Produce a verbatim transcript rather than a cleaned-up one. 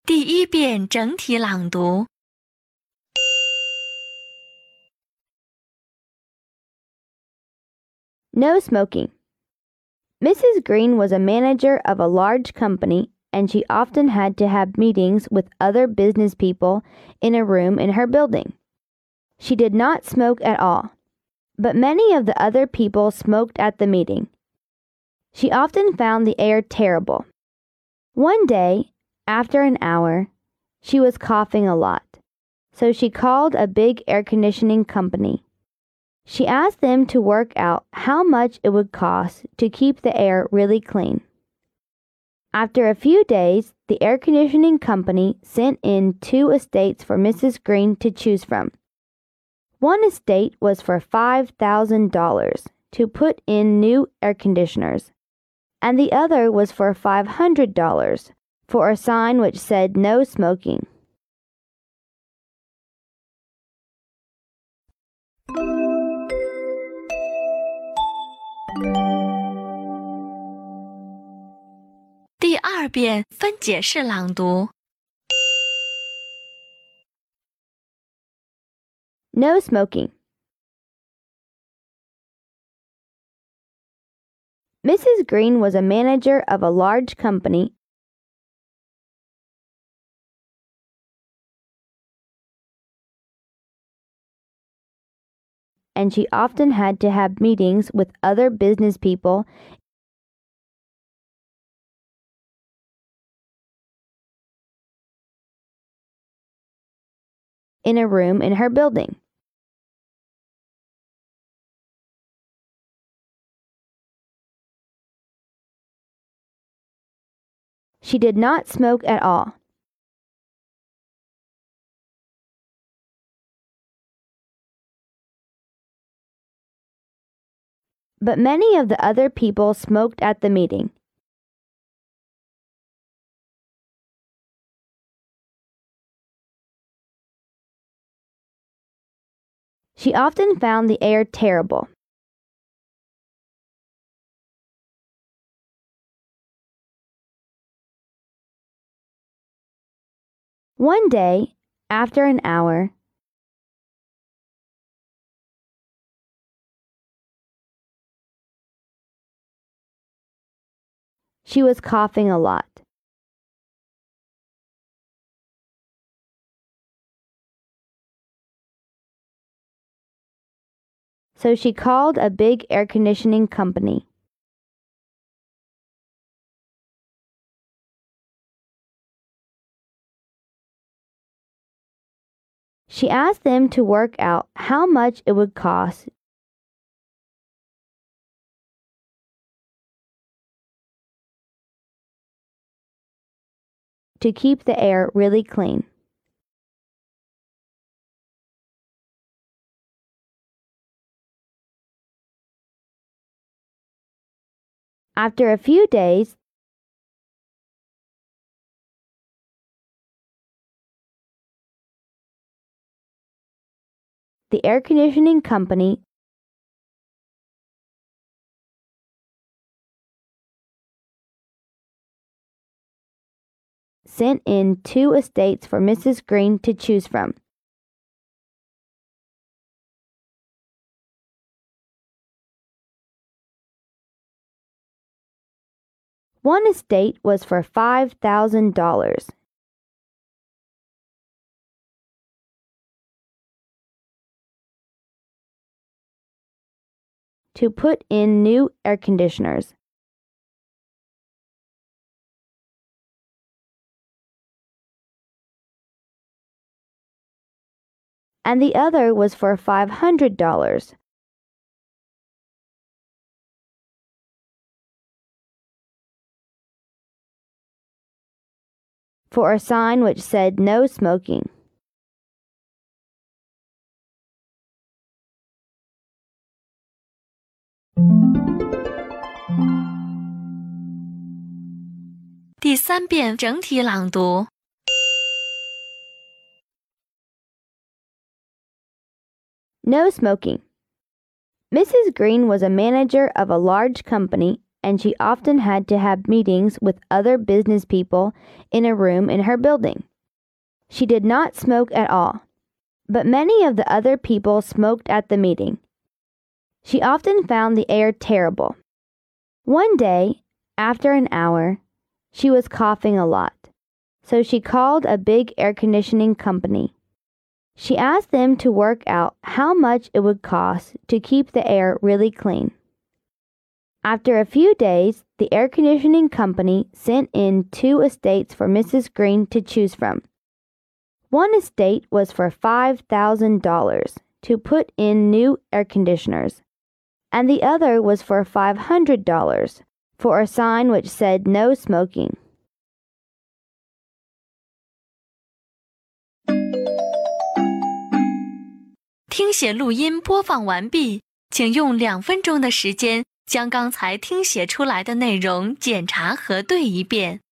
第一遍整体朗读。 No smoking. Missus Green was a manager of a large company, and she often had to have meetings with other business people in a room in her building. She did not smoke at all, but many of the other people smoked at the meeting. She often found the air terrible. One day, after an hour, she was coughing a lot, so she called a big air conditioning company. She asked them to work out how much it would cost to keep the air really clean. After a few days, the air conditioning company sent in two estates for Missus Green to choose from. One estate was for five thousand dollars to put in new air conditioners, and the other was for five hundred dollars for a sign which said no smoking. 第二遍分解式朗读。 No smoking. Missus Green was a manager of a large company, and she often had to have meetings with other business people in a room in her building. She did not smoke at all. But many of the other people smoked at the meeting. She often found the air terrible. One day, after an hour, she was coughing a lot. So she called a big air conditioning company. She asked them to work out how much it would cost to keep the air really clean. After a few days, the air conditioning company sent in two estates for Missus Green to choose from. One estate was for five thousand dollars. To put in new air conditioners. And the other was for five hundred dollars. For a sign which said no smoking. 《第三遍整体朗读。 No smoking. Missus Green was a manager of a large company, and she often had to have meetings with other business people in a room in her building. She did not smoke at all, but many of the other people smoked at the meeting. She often found the air terrible. One day, after an hour, she was coughing a lot, so she called a big air conditioning company. She asked them to work out how much it would cost to keep the air really clean. After a few days, the air conditioning company sent in two estates for Missus Green to choose from. One estate was for five thousand dollars to put in new air conditioners, and the other was for five hundred dollars for a sign which said no smoking. 听写录音播放完毕，请用两分钟的时间将刚才听写出来的内容检查核对一遍。